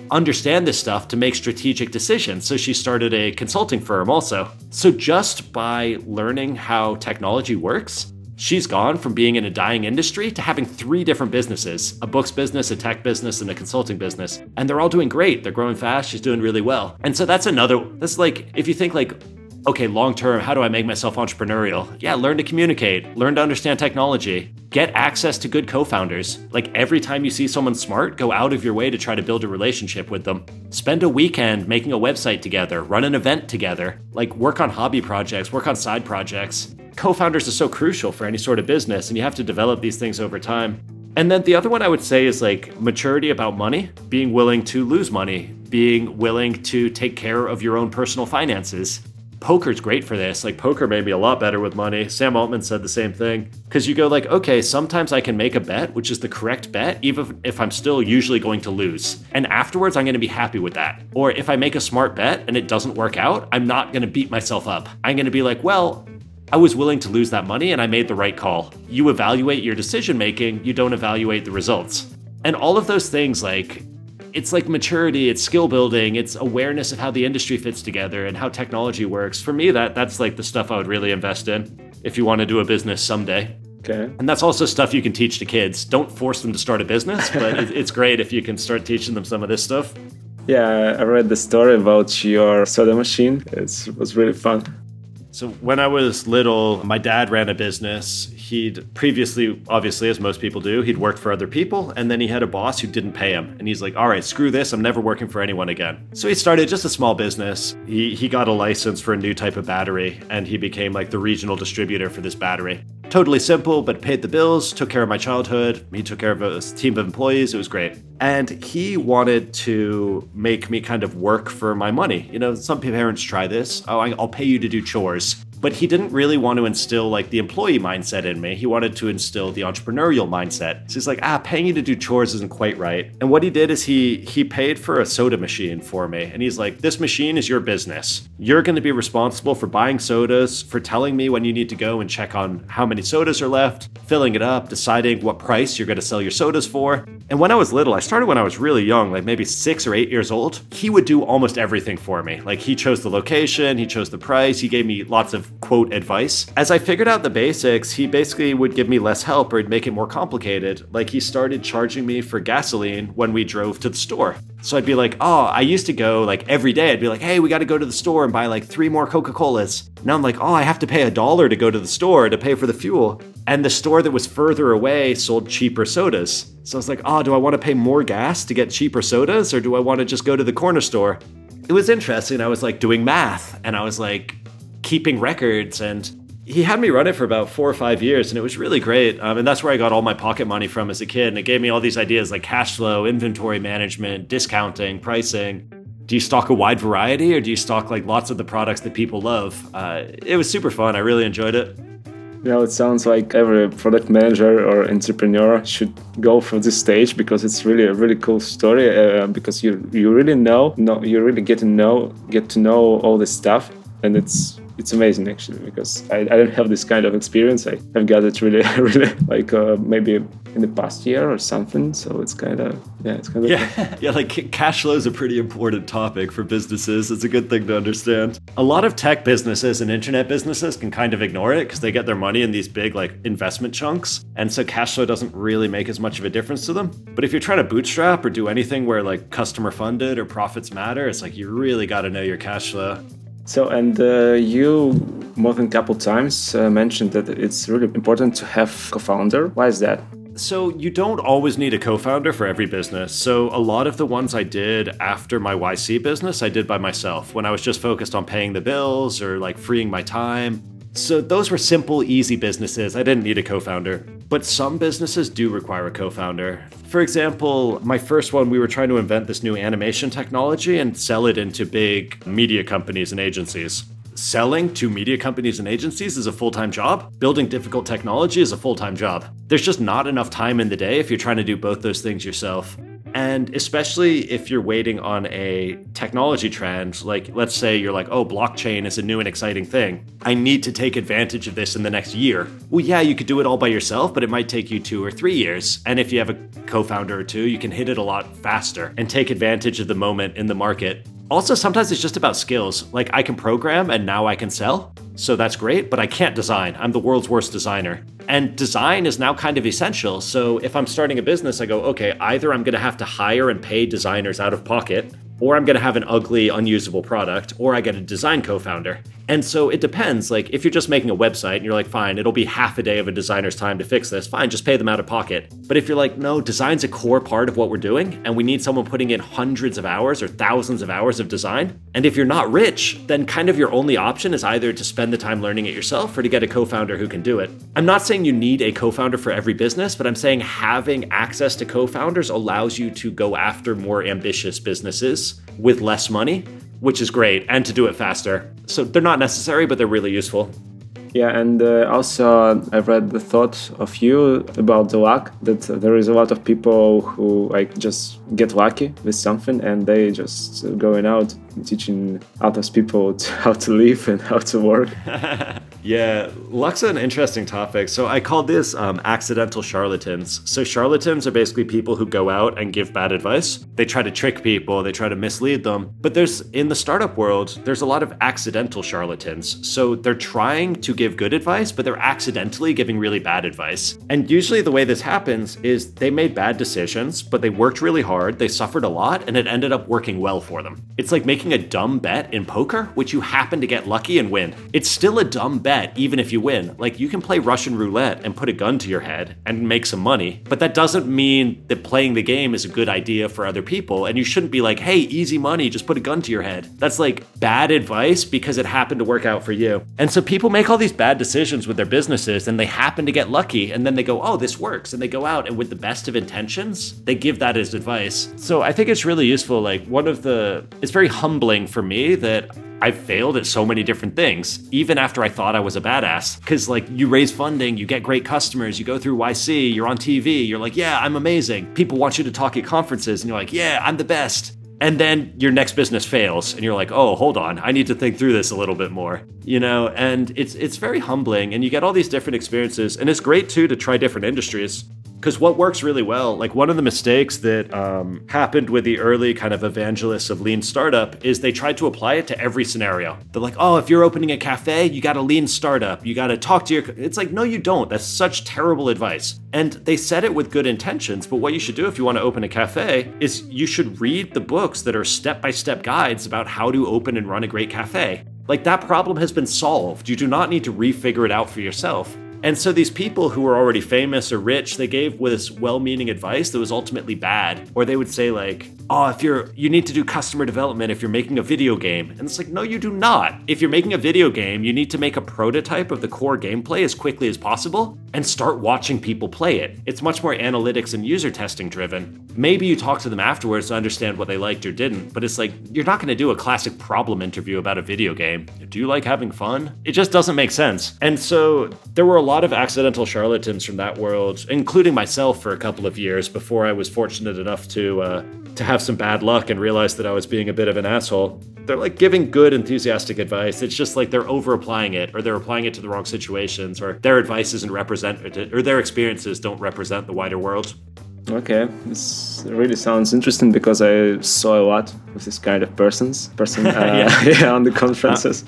understand this stuff to make strategic decisions. So she started a consulting firm also. So just by learning how technology works, she's gone from being in a dying industry to having 3 different businesses, a books business, a tech business, and a consulting business. And they're all doing great. They're growing fast. She's doing really well. And so that's like, if you think like, okay, long term, how do I make myself entrepreneurial? Yeah, learn to communicate, learn to understand technology, get access to good co-founders. Like every time you see someone smart, go out of your way to try to build a relationship with them. Spend a weekend making a website together, run an event together, like work on hobby projects, work on side projects. Co-founders are so crucial for any sort of business, and you have to develop these things over time. And then the other one I would say is like maturity about money, being willing to lose money, being willing to take care of your own personal finances. Poker's great for this. Like poker made me a lot better with money. Sam Altman said the same thing. Because you go like, okay, sometimes I can make a bet, which is the correct bet, even if I'm still usually going to lose. And afterwards, I'm going to be happy with that. Or if I make a smart bet and it doesn't work out, I'm not going to beat myself up. I'm going to be like, well, I was willing to lose that money and I made the right call. You evaluate your decision making, you don't evaluate the results. And all of those things, like, it's like maturity, it's skill building, it's awareness of how the industry fits together and how technology works. For me, that's like the stuff I would really invest in if you want to do a business someday. Okay. And that's also stuff you can teach to kids. Don't force them to start a business, but it's great if you can start teaching them some of this stuff. Yeah, I read the story about your soda machine. It was really fun. So when I was little, my dad ran a business. He'd previously, obviously, as most people do, he'd worked for other people, and then he had a boss who didn't pay him. And he's like, all right, screw this. I'm never working for anyone again. So he started just a small business. He got a license for a new type of battery, and he became like the regional distributor for this battery. Totally simple, but paid the bills, took care of my childhood. He took care of a team of employees. It was great. And he wanted to make me kind of work for my money. You know, some parents try this. Oh, I'll pay you to do chores. But he didn't really want to instill like the employee mindset in me. He wanted to instill the entrepreneurial mindset. So he's like, paying you to do chores isn't quite right. And what he did is he paid for a soda machine for me. And he's like, this machine is your business. You're going to be responsible for buying sodas, for telling me when you need to go and check on how many sodas are left, filling it up, deciding what price you're going to sell your sodas for. And when I was little, I started when I was really young, like maybe 6 or 8 years old. He would do almost everything for me. Like he chose the location, he chose the price, he gave me lots of quote advice. As I figured out the basics, he basically would give me less help or he'd make it more complicated. Like he started charging me for gasoline when we drove to the store. So I'd be like, I used to go like every day. I'd be like, hey, we got to go to the store and buy like 3 more Coca-Colas. Now I'm like, I have to pay $1 to go to the store to pay for the fuel. And the store that was further away sold cheaper sodas. So I was like, do I want to pay more gas to get cheaper sodas or do I want to just go to the corner store? It was interesting. I was like doing math and I was like keeping records, and he had me run it for about 4 or 5 years, and it was really great. And that's where I got all my pocket money from as a kid. And it gave me all these ideas like cash flow, inventory management, discounting, pricing. Do you stock a wide variety or do you stock like lots of the products that people love? It was super fun. I really enjoyed it. You know, it sounds like every product manager or entrepreneur should go for this stage because it's really a really cool story. Because you really you really get to know all this stuff, and it's amazing actually, because I don't have this kind of experience. I have got it really like maybe in the past year or something. So it's kind of like cash flow is a pretty important topic for businesses. It's a good thing to understand. A lot of tech businesses and internet businesses can kind of ignore it because they get their money in these big like investment chunks, and so cash flow doesn't really make as much of a difference to them. But if you're trying to bootstrap or do anything where like customer funded or profits matter, it's like you really got to know your cash flow. So, and you more than a couple times mentioned that it's really important to have a co-founder. Why is that? So you don't always need a co-founder for every business. So a lot of the ones I did after my YC business, I did by myself when I was just focused on paying the bills or like freeing my time. So those were simple, easy businesses. I didn't need a co-founder. But some businesses do require a co-founder. For example, my first one, we were trying to invent this new animation technology and sell it into big media companies and agencies. Selling to media companies and agencies is a full-time job. Building difficult technology is a full-time job. There's just not enough time in the day if you're trying to do both those things yourself. And especially if you're waiting on a technology trend, like let's say you're like, oh, blockchain is a new and exciting thing. I need to take advantage of this in the next year. Well, yeah, you could do it all by yourself, but it might take you 2 or 3 years. And if you have a co-founder or two, you can hit it a lot faster and take advantage of the moment in the market. Also, sometimes it's just about skills. Like I can program and now I can sell. So that's great, but I can't design. I'm the world's worst designer. And design is now kind of essential. So if I'm starting a business, I go, okay, either I'm going to have to hire and pay designers out of pocket, or I'm going to have an ugly, unusable product, or I get a design co-founder. And so it depends. Like if you're just making a website and you're like, fine, it'll be half a day of a designer's time to fix this. Fine, just pay them out of pocket. But if you're like, no, design's a core part of what we're doing, and we need someone putting in hundreds of hours or thousands of hours of design. And if you're not rich, then kind of your only option is either to spend the time learning it yourself or to get a co-founder who can do it. I'm not saying you need a co-founder for every business, but I'm saying having access to co-founders allows you to go after more ambitious businesses with less money, which is great, and to do it faster. So they're not necessary, but they're really useful. Yeah, and also I've read the thought of you about the luck, that there is a lot of people who like just get lucky with something and they just going out teaching others people how to live and how to work. Yeah, luck's an interesting topic. So I called this accidental charlatans. So charlatans are basically people who go out and give bad advice. They try to trick people, they try to mislead them. But in the startup world, there's a lot of accidental charlatans. So they're trying to give good advice, but they're accidentally giving really bad advice. And usually the way this happens is they made bad decisions, but they worked really hard, they suffered a lot, and it ended up working well for them. It's like making a dumb bet in poker, which you happen to get lucky and win. It's still a dumb bet, even if you win. Like you can play Russian roulette and put a gun to your head and make some money, but that doesn't mean that playing the game is a good idea for other people. And you shouldn't be like, hey, easy money, just put a gun to your head. That's like bad advice because it happened to work out for you. And so people make all these bad decisions with their businesses and they happen to get lucky, and then they go, oh, this works. And they go out and with the best of intentions, they give that as advice. So I think it's really useful. Like it's very humbling for me that I've failed at so many different things, even after I thought I was a badass. Because like you raise funding, you get great customers, you go through YC, you're on TV, you're like, yeah, I'm amazing. People want you to talk at conferences and you're like, yeah, I'm the best. And then your next business fails and you're like, oh, hold on, I need to think through this a little bit more, and it's very humbling, and you get all these different experiences, and it's great too to try different industries. Because what works really well, like one of the mistakes that happened with the early kind of evangelists of lean startup is they tried to apply it to every scenario. They're like, oh, if you're opening a cafe, you got a lean startup. You got to talk to It's like, no, you don't. That's such terrible advice. And they said it with good intentions. But what you should do if you want to open a cafe is you should read the books that are step-by-step guides about how to open and run a great cafe. Like that problem has been solved. You do not need to refigure it out for yourself. And so these people who were already famous or rich, they gave this well-meaning advice that was ultimately bad. Or they would say like, oh, you need to do customer development if you're making a video game. And it's like, no, you do not. If you're making a video game, you need to make a prototype of the core gameplay as quickly as possible and start watching people play it. It's much more analytics and user testing driven. Maybe you talk to them afterwards to understand what they liked or didn't, but it's like, you're not going to do a classic problem interview about a video game. Do you like having fun? It just doesn't make sense. And so there were a lot of accidental charlatans from that world, including myself for a couple of years before I was fortunate enough to have some bad luck and realize that I was being a bit of an asshole. They're like giving good, enthusiastic advice. It's just like they're over applying it, or they're applying it to the wrong situations, or their advice isn't represented, or their experiences don't represent the wider world. Okay, this really sounds interesting because I saw a lot of this kind of person on the conferences.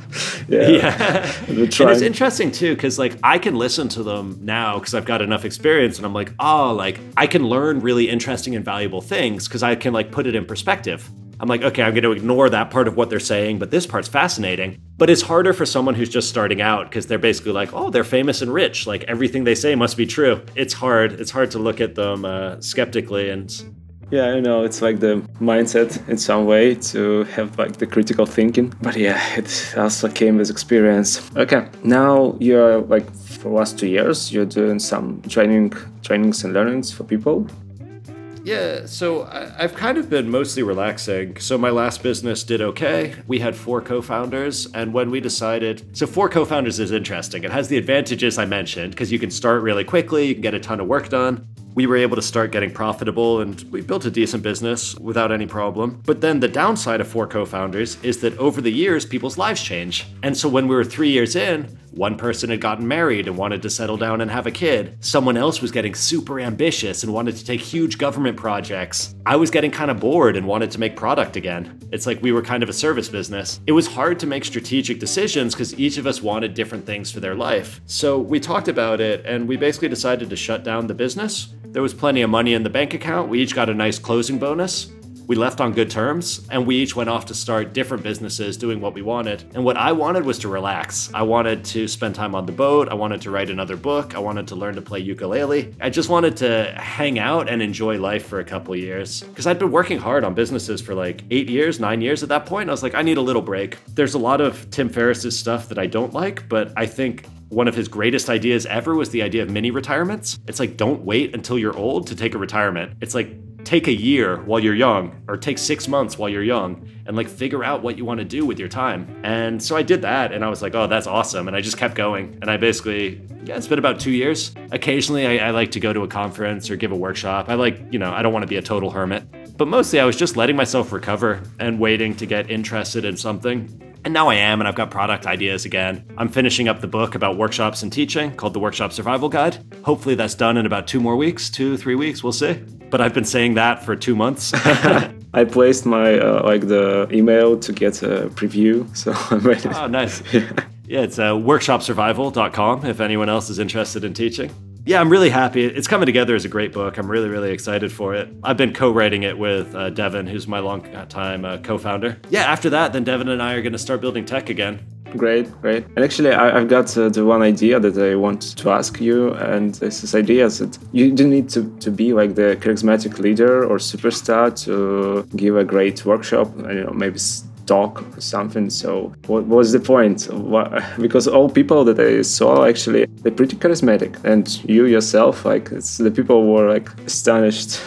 And it's interesting too, because like I can listen to them now because I've got enough experience, and I'm like, oh, like I can learn really interesting and valuable things because I can like put it in perspective. I'm like, okay, I'm going to ignore that part of what they're saying, but this part's fascinating. But it's harder for someone who's just starting out because they're basically like, oh, they're famous and rich. Like everything they say must be true. It's hard. It's hard to look at them skeptically. And yeah, I know, it's like the mindset in some way to have like the critical thinking. But yeah, it also came with experience. Okay, now you're like for the last 2 years, you're doing some trainings and learnings for people. Yeah, so I've kind of been mostly relaxing. So my last business did okay. We had 4 co-founders, and when we decided... So 4 co-founders is interesting. It has the advantages I mentioned, because you can start really quickly, you can get a ton of work done. we were able to start getting profitable and we built a decent business without any problem. But then the downside of 4 co-founders is that over the years, people's lives change. And so when we were 3 years in, one person had gotten married and wanted to settle down and have a kid. Someone else was getting super ambitious and wanted to take huge government projects. I was getting kind of bored and wanted to make product again. It's like we were kind of a service business. It was hard to make strategic decisions because each of us wanted different things for their life. So we talked about it and we basically decided to shut down the business. There was plenty of money in the bank account. We each got a nice closing bonus. We left on good terms, and we each went off to start different businesses doing what we wanted. And what I wanted was to relax. I wanted to spend time on the boat. I wanted to write another book. I wanted to learn to play ukulele. I just wanted to hang out and enjoy life for a couple of years. Because I'd been working hard on businesses for like 8 years, 9 years at that point. I was like, I need a little break. There's a lot of Tim Ferriss's stuff that I don't like, but I think one of his greatest ideas ever was the idea of mini retirements. It's like, don't wait until you're old to take a retirement. It's like, take a year while you're young, or take 6 months while you're young, and like figure out what you want to do with your time. And so I did that, and I was like, oh, that's awesome. And I just kept going. And I basically, it's been about 2 years. Occasionally I like to go to a conference or give a workshop. I don't want to be a total hermit. But mostly I was just letting myself recover and waiting to get interested in something. And now I am, and I've got product ideas again. I'm finishing up the book about workshops and teaching called The Workshop Survival Guide. Hopefully that's done in about 2 more weeks, 2-3 weeks, we'll see. But I've been saying that for 2 months. I placed my the email to get a preview, so I'm ready. Oh, nice. Yeah, it's workshopsurvival.com if anyone else is interested in teaching. Yeah, I'm really happy. It's coming together as a great book. I'm really, really excited for it. I've been co-writing it with Devin, who's my long-time co-founder. Yeah, after that, then Devin and I are going to start building tech again. Great. And actually, I've got the one idea that I want to ask you, and this idea is that you don't need to be like the charismatic leader or superstar to give a great workshop, maybe talk or something. So what was the point? Because all people that I saw, actually, they're pretty charismatic. And you yourself, the people were like astonished.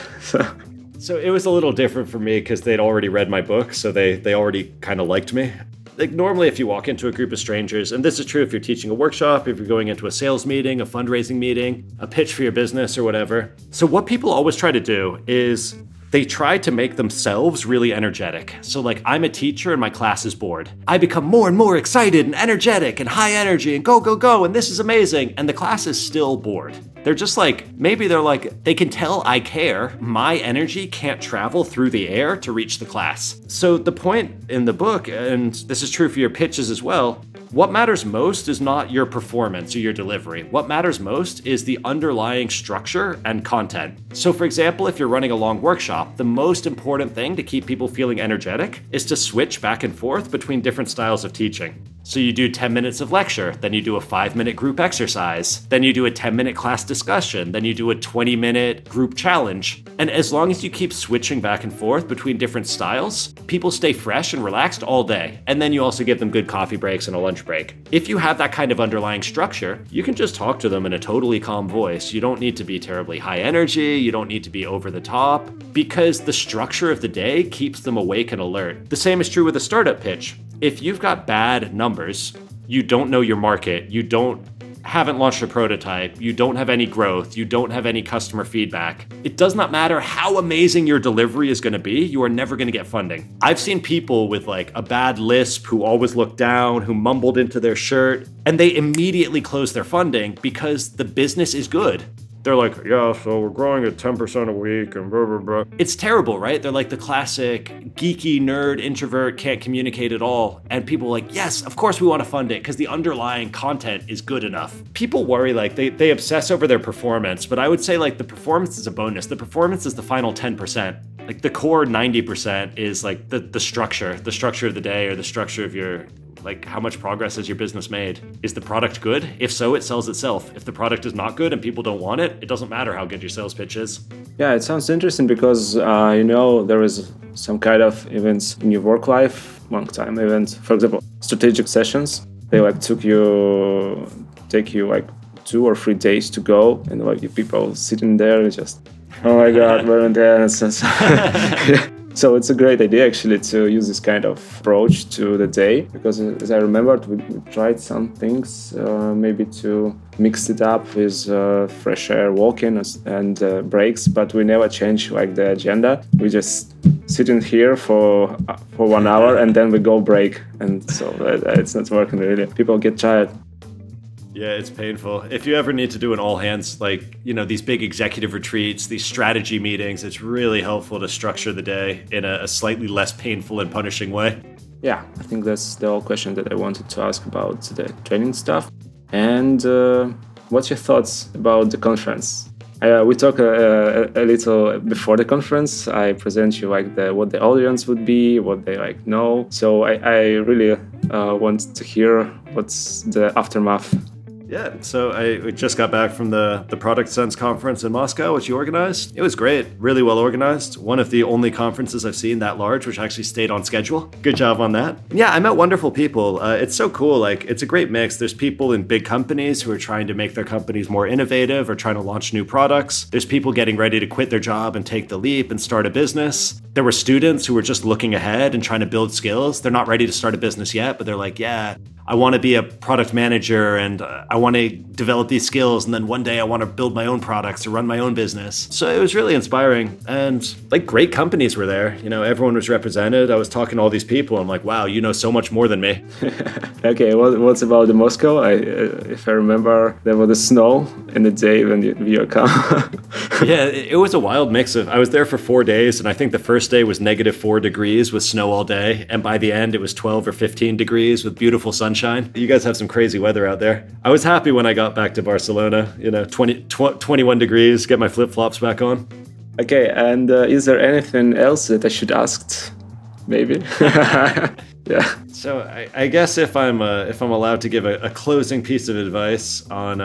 So it was a little different for me because they'd already read my book. So they already kind of liked me. Like normally if you walk into a group of strangers, and this is true if you're teaching a workshop, if you're going into a sales meeting, a fundraising meeting, a pitch for your business or whatever. So what people always try to do is they try to make themselves really energetic. So like I'm a teacher and my class is bored. I become more and more excited and energetic and high energy and go, and this is amazing. And the class is still bored. They're just like, maybe they're like, they can tell I care. My energy can't travel through the air to reach the class. So the point in the book, and this is true for your pitches as well, what matters most is not your performance or your delivery. What matters most is the underlying structure and content. So for example, if you're running a long workshop, the most important thing to keep people feeling energetic is to switch back and forth between different styles of teaching. So you do 10 minutes of lecture, then you do a 5-minute group exercise, then you do a 10-minute class discussion, then you do a 20-minute group challenge. And as long as you keep switching back and forth between different styles, people stay fresh and relaxed all day. And then you also give them good coffee breaks and a lunch break. If you have that kind of underlying structure, you can just talk to them in a totally calm voice. You don't need to be terribly high energy. You don't need to be over the top, because the structure of the day keeps them awake and alert. The same is true with a startup pitch. If you've got bad numbers, you don't know your market, haven't launched a prototype, you don't have any growth, you don't have any customer feedback, it does not matter how amazing your delivery is going to be, you are never going to get funding. I've seen people with like a bad lisp who always looked down, who mumbled into their shirt, and they immediately close their funding because the business is good. They're like, yeah, so we're growing at 10% a week and blah, blah, blah. It's terrible, right? They're like the classic geeky nerd introvert, can't communicate at all. And people are like, yes, of course we want to fund it because the underlying content is good enough. People worry, like they obsess over their performance, but I would say like the performance is a bonus. The performance is the final 10%. Like the core 90% is like the structure of the day or the structure of your, like how much progress has your business made? Is the product good? If so, it sells itself. If the product is not good and people don't want it, it doesn't matter how good your sales pitch is. Yeah, it sounds interesting because, there is some kind of events in your work life, long time events. For example, strategic sessions. They take you like 2 or 3 days to go, and like you people sitting there and just, oh my God, we're in there. So it's a great idea actually to use this kind of approach to the day, because as I remembered, we tried some things, maybe to mix it up with fresh air walking and breaks, but we never change like the agenda. We just sit in here for 1 hour and then we go break, and so it's not working really. People get tired. Yeah, it's painful. If you ever need to do an all hands, like, these big executive retreats, these strategy meetings, it's really helpful to structure the day in a slightly less painful and punishing way. Yeah, I think that's the whole question that I wanted to ask about the training stuff. And what's your thoughts about the conference? We talked a little before the conference. I present you like what the audience would be, what they like know. So I really want to hear what's the aftermath. Yeah, so I just got back from the Product Sense conference in Moscow, which you organized. It was great, really well organized. One of the only conferences I've seen that large, which actually stayed on schedule. Good job on that. Yeah, I met wonderful people. It's so cool. Like, it's a great mix. There's people in big companies who are trying to make their companies more innovative or trying to launch new products. There's people getting ready to quit their job and take the leap and start a business. There were students who were just looking ahead and trying to build skills. They're not ready to start a business yet, but they're like, yeah, I want to be a product manager and I want to develop these skills, and then one day I want to build my own products or run my own business. So it was really inspiring, and like great companies were there. Everyone was represented. I was talking to all these people. I'm like, wow, you know so much more than me. Okay, what's about the Moscow? If I remember, there was the snow in the day when you come. Yeah, it was a wild mix of. I was there for 4 days, and I think the first day was -4 degrees with snow all day, and by the end it was 12 or 15 degrees with beautiful sunshine. You guys have some crazy weather out there. I was happy when I got back to Barcelona. 21 degrees. Get my flip-flops back on. Okay, and is there anything else that I should ask? Maybe. Yeah. So I guess if I'm allowed to give a closing piece of advice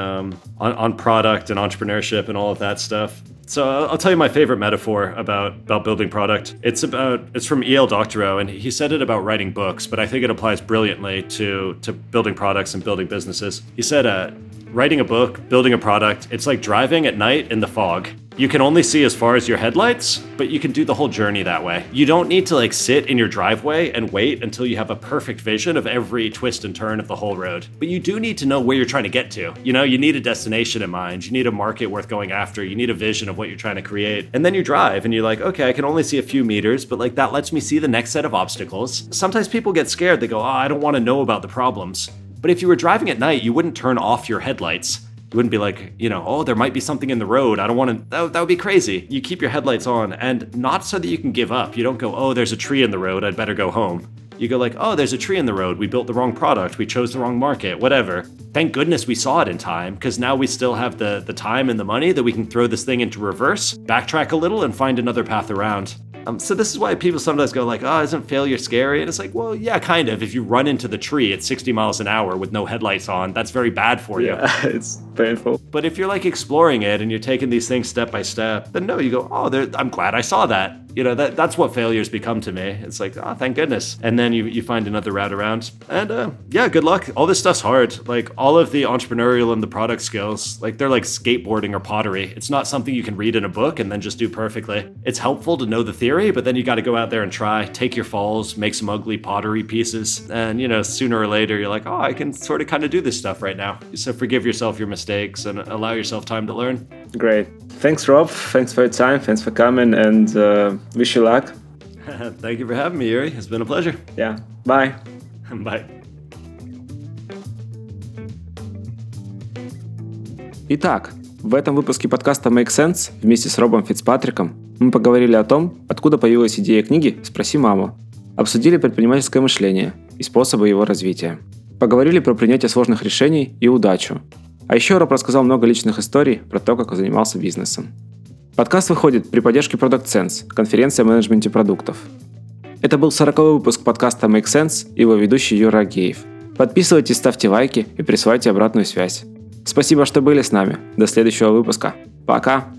on product and entrepreneurship and all of that stuff. So I'll tell you my favorite metaphor about building product. It's from E.L. Doctorow, and he said it about writing books, but I think it applies brilliantly to building products and building businesses. He said, writing a book, building a product, it's like driving at night in the fog. You can only see as far as your headlights, but you can do the whole journey that way. You don't need to sit in your driveway and wait until you have a perfect vision of every twist and turn of the whole road. But you do need to know where you're trying to get to. You need a destination in mind. You need a market worth going after. You need a vision of what you're trying to create. And then you drive and you're like, okay, I can only see a few meters, but that lets me see the next set of obstacles. Sometimes people get scared. They go, I don't want to know about the problems. But if you were driving at night, you wouldn't turn off your headlights. You wouldn't be like, there might be something in the road. I don't want to, that would be crazy. You keep your headlights on, and not so that you can give up. You don't go, there's a tree in the road, I'd better go home. You go there's a tree in the road. We built the wrong product. We chose the wrong market, whatever. Thank goodness we saw it in time, because now we still have the time and the money that we can throw this thing into reverse, backtrack a little, and find another path around. So this is why people sometimes go isn't failure scary? And it's well, yeah, kind of. If you run into the tree at 60 miles an hour with no headlights on, that's very bad for you. Yeah, it's painful. But if you're exploring it and you're taking these things step by step, then no, you go, I'm glad I saw that. That's what failures become to me. It's thank goodness. And then you find another route around. And yeah, good luck. All this stuff's hard. All of the entrepreneurial and the product skills, they're like skateboarding or pottery. It's not something you can read in a book and then just do perfectly. It's helpful to know the theory, but then you got to go out there and try, take your falls, make some ugly pottery pieces. And, sooner or later, you're like, I can sort of kind of do this stuff right now. So forgive yourself your mistakes and allow yourself time to learn. Great. Thanks, Rob. Thanks for your time. Thanks for coming, and wish you luck. Thank you for having me, Yuri. It's been a pleasure. Yeah. Bye. Bye. Итак, в этом выпуске подкаста Make Sense вместе с Робом Фицпатриком мы поговорили о том, откуда появилась идея книги «Спроси маму». Обсудили предпринимательское мышление и способы его развития. Поговорили про принятие сложных решений и удачу. А еще Роб рассказал много личных историй про то, как он занимался бизнесом. Подкаст выходит при поддержке Product Sense, конференции о менеджменте продуктов. Это был 40-й выпуск подкаста Make Sense и его ведущий Юра Агеев. Подписывайтесь, ставьте лайки и присылайте обратную связь. Спасибо, что были с нами. До следующего выпуска. Пока!